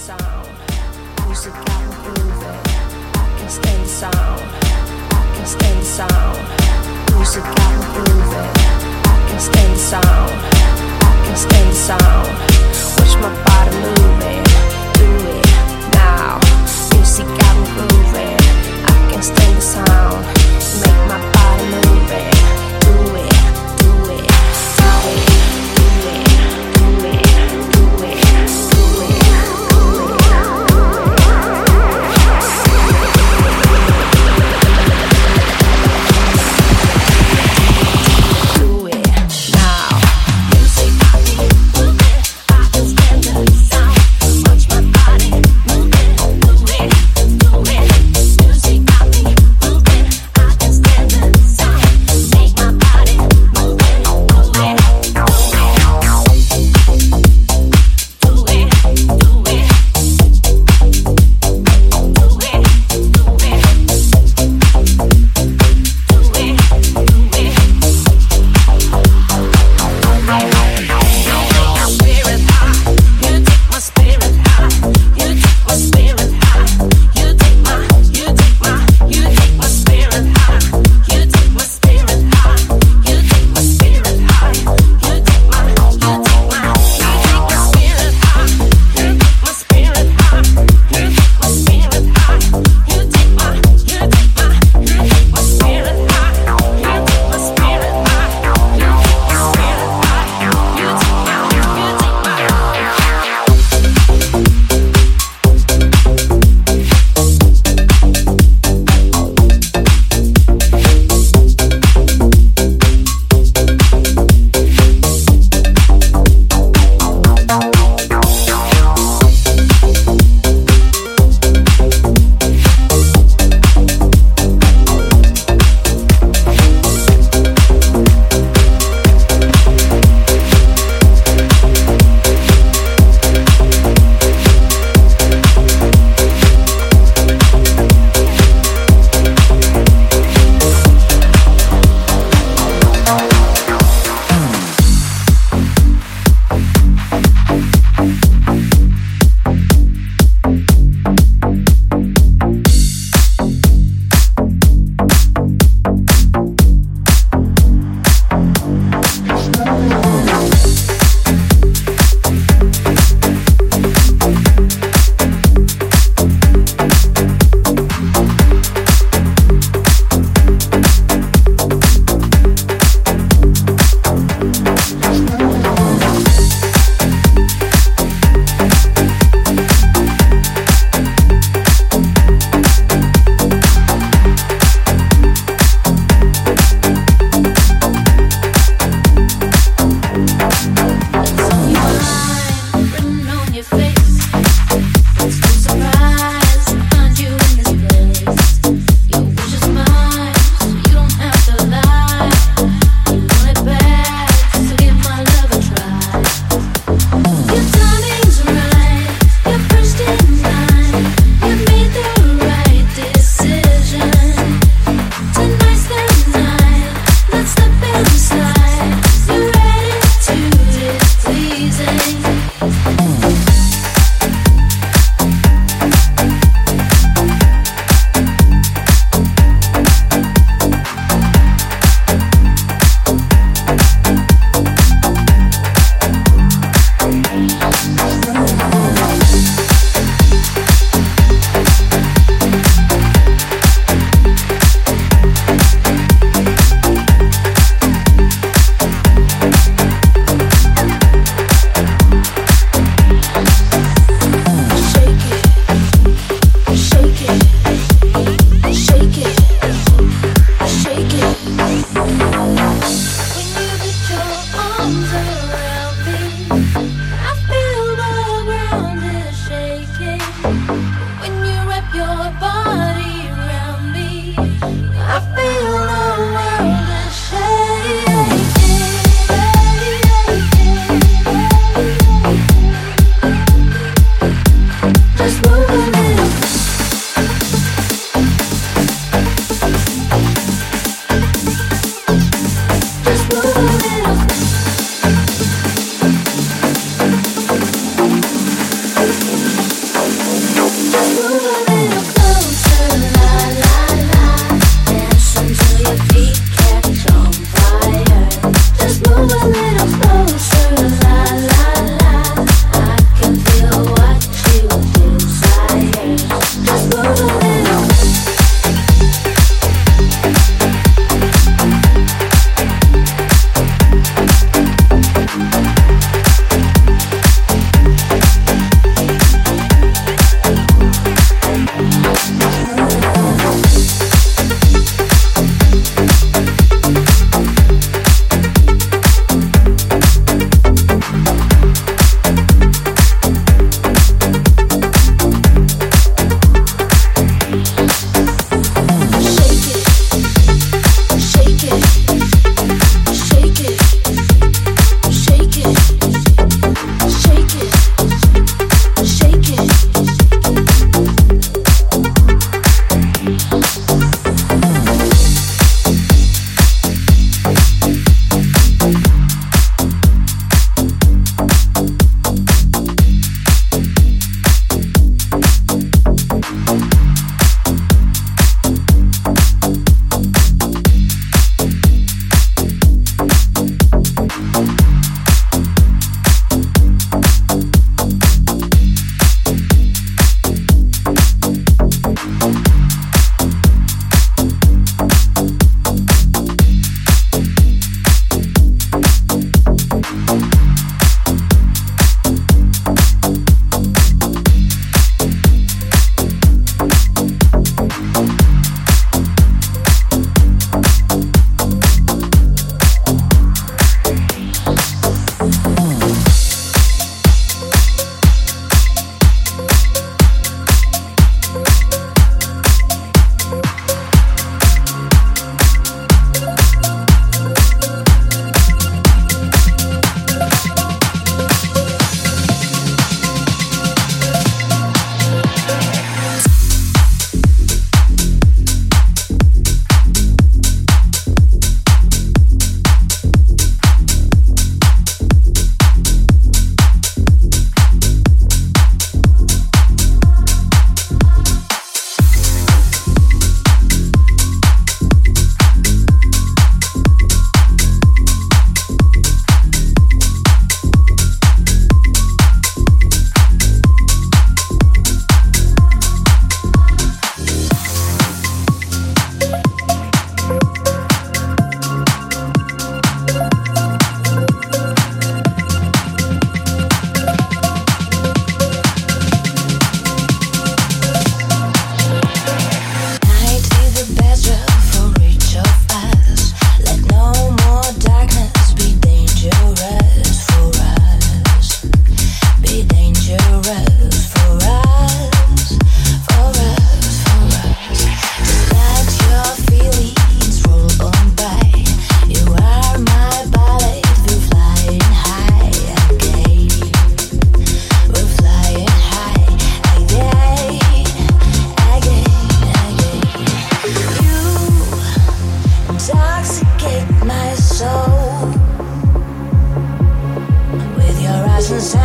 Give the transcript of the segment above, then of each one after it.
sound. Music got me grooving. I can stand the sound. I can stand the sound. Music got me grooving. I can stand the sound. I can stand the sound. Watch my body moving. Do it now. Music got me grooving. I can stand the sound. Make my body moving. Do it, do it, do it, do it, do it, do it, do it, do it now. Music got me moving.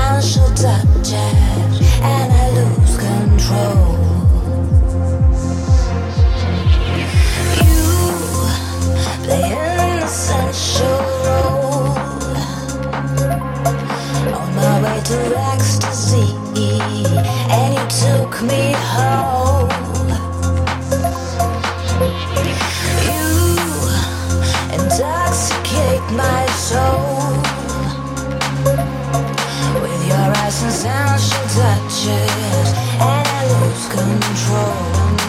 essential touches, and I lose control. You play an essential role on my way to ecstasy, and you took me home. You intoxicate my soul with your essential touches, and I lose control.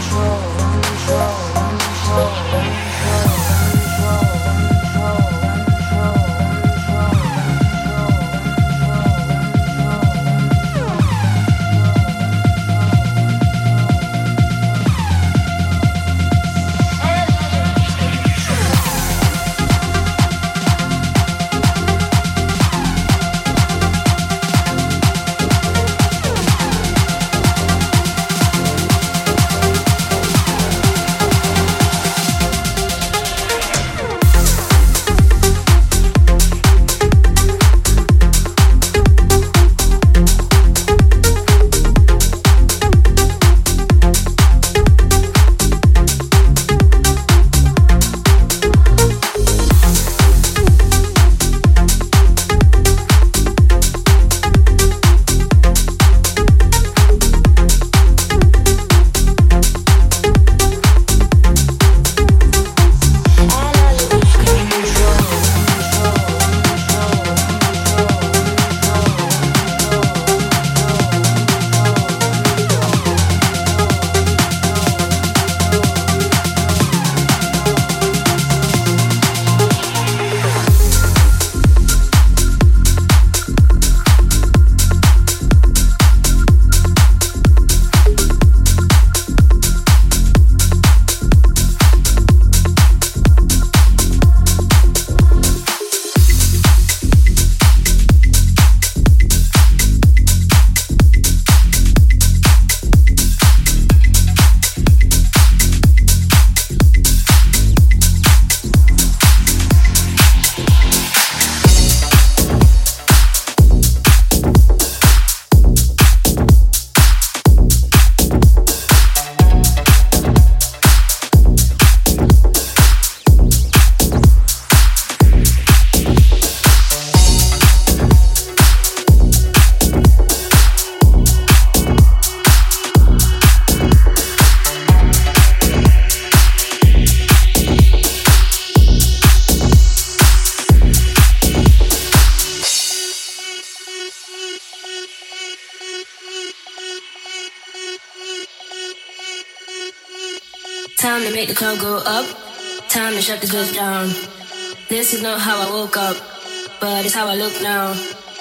Time to make the club go up. Time to shut this bitch down. This is not how I woke up, but it's how I look now.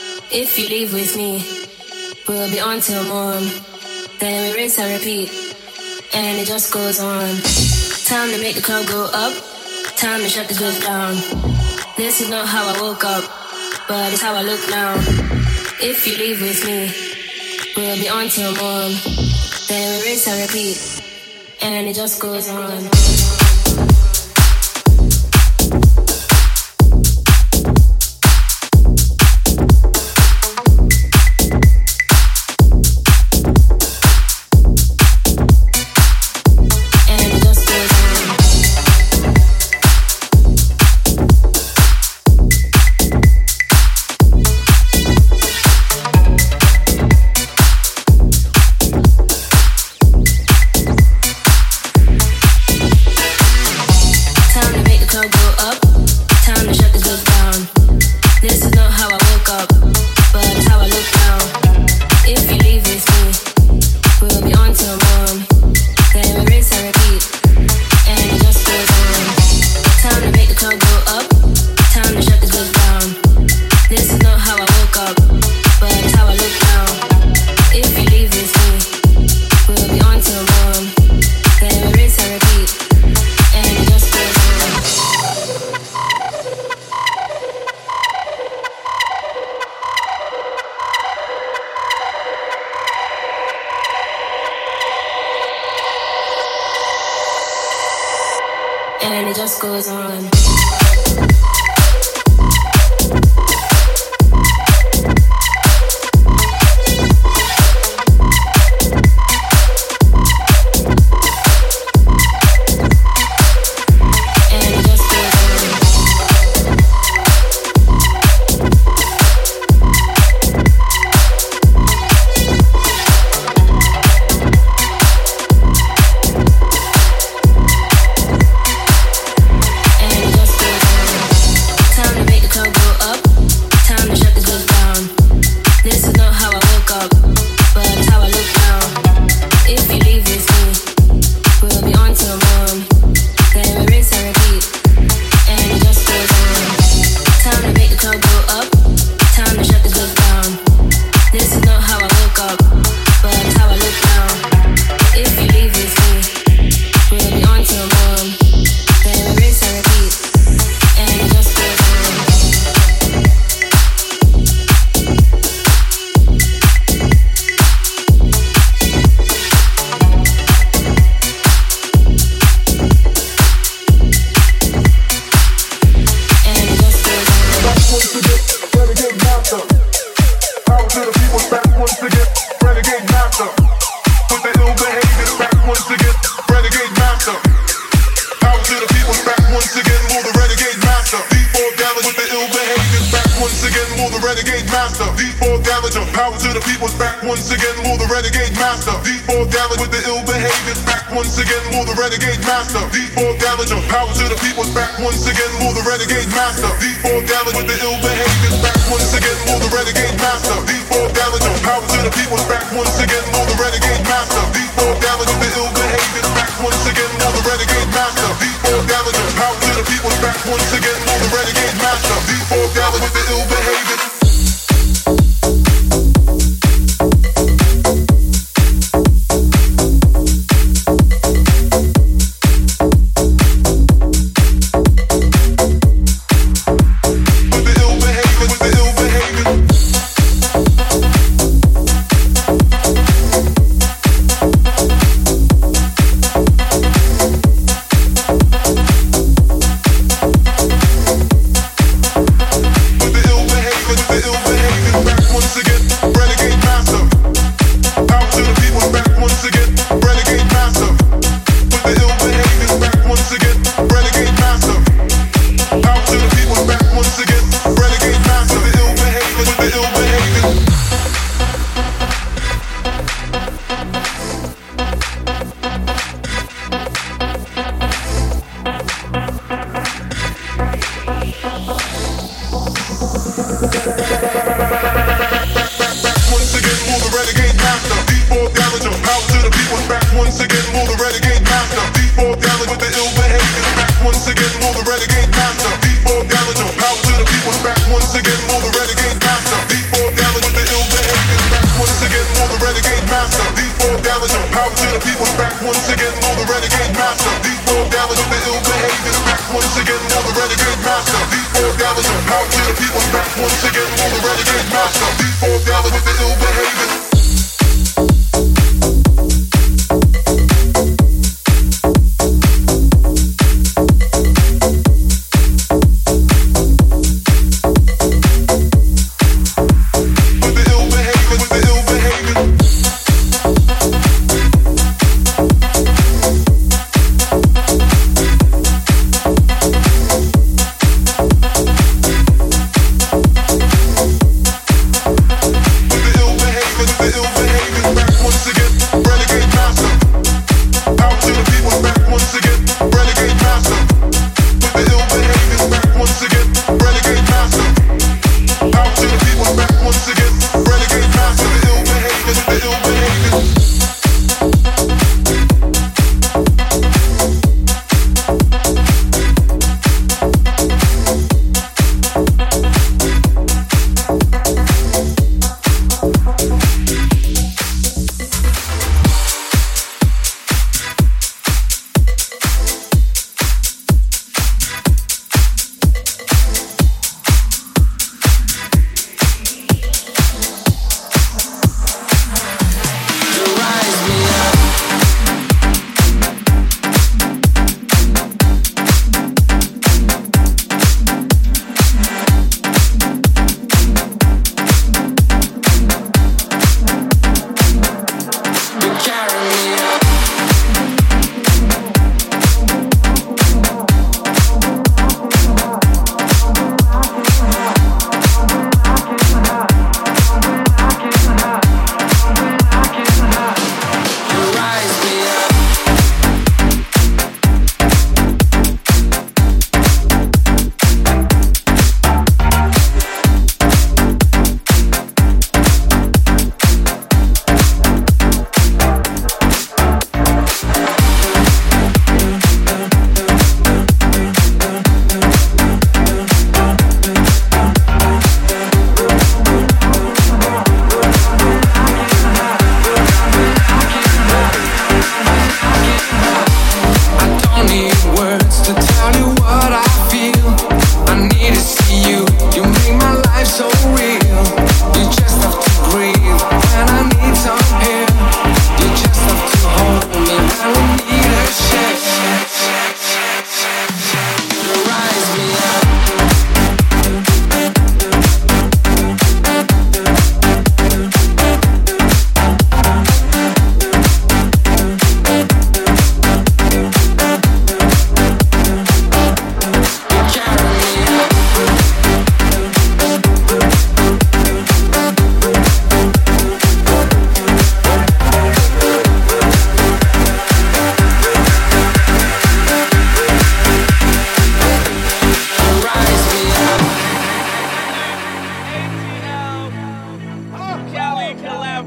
If you leave with me, we'll be on till morn. Then we rinse and repeat, and it just goes on. Time to make the club go up. Time to shut this bitch down. This is not how I woke up, but it's how I look now. If you leave with me, we'll be on till morn. Then we rinse and repeat, and it just goes on. And it just goes on. once again. Renegade master. With the ill behavior back once again. Renegade master. Power to the people back once again. More the renegade master. D4 damage with the ill behavior back once again. More the renegade master. D4 damage. Power to the people back once again. More the renegade master. D4 damage with the ill behavior back once again. More the renegade master. D4 damage. Power to the people back once again. More the renegade master. D4 damage with the ill behavior back once again. More the renegade master. D4 damage. Power to the people back once again. More the renegade master. D4 damage with the ill behavior back once again. More the renegade master. D4 damage. Power to the people back once again. More the renegade master. D4 damage with the ill behavior.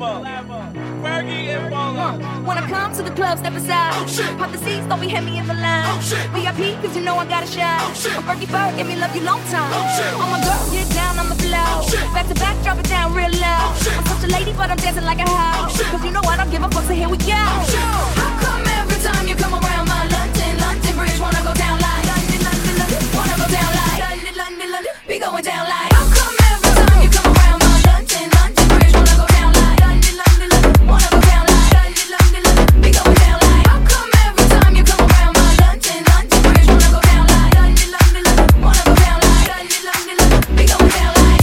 When I come to the club, step aside. Pop the seats, don't be hit me in the line. VIP, cause you know I got a shot. I'm Fergie Ferg, give me love you long time. Oh my girl, get down on the floor. Back to back, drop it down real low. I'm such a lady, but I'm dancing like a house. Cause you know I don't give a fuck, so here we go. How come every time you come around my London Bridge, wanna go down like London, wanna go down like London, be going down like. How come every time you come around my London Bridge, wanna go down like London, wanna go down like London, be going down like. How come every time you come around my London Bridge, wanna go down like London, wanna go down like London, be going down like.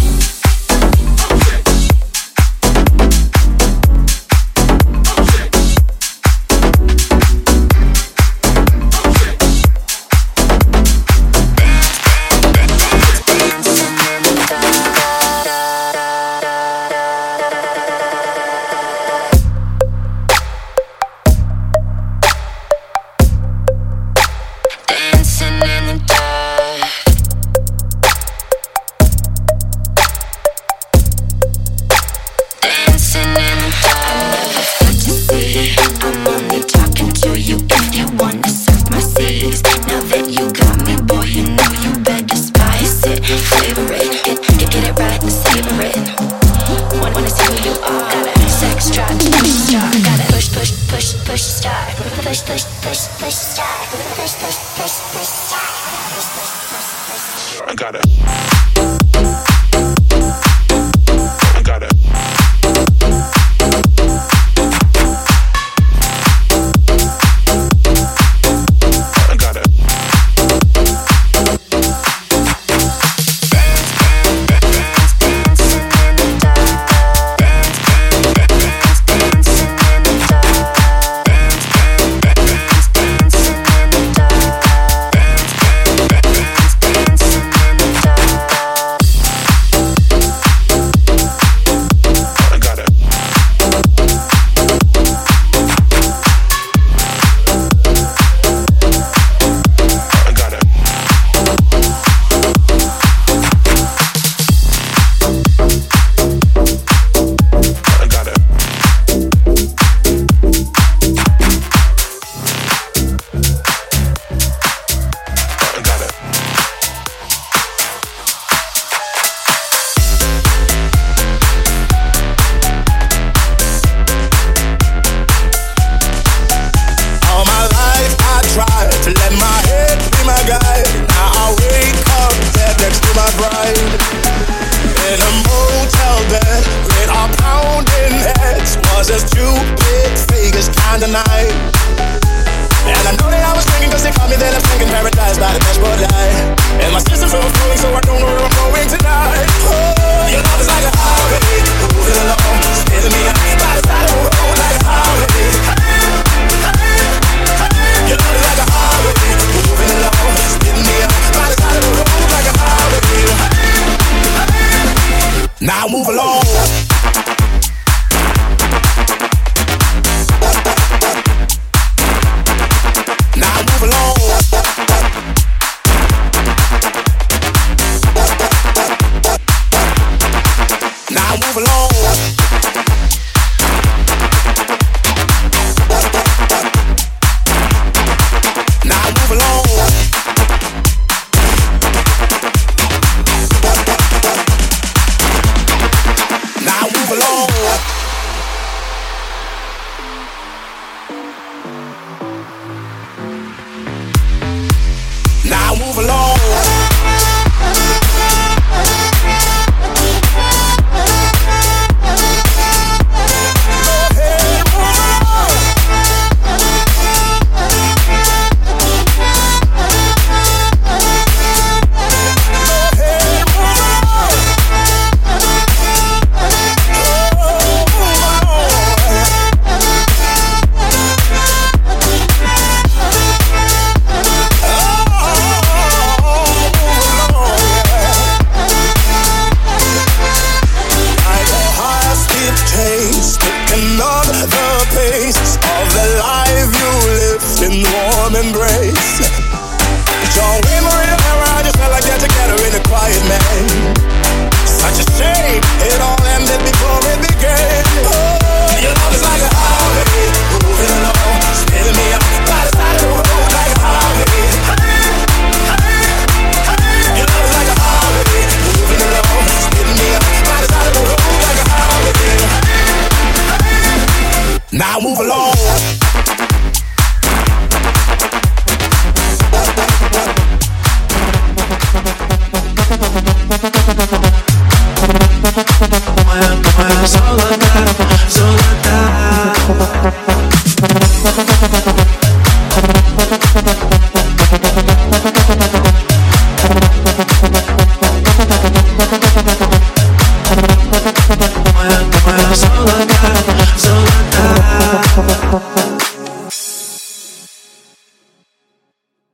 Now move along.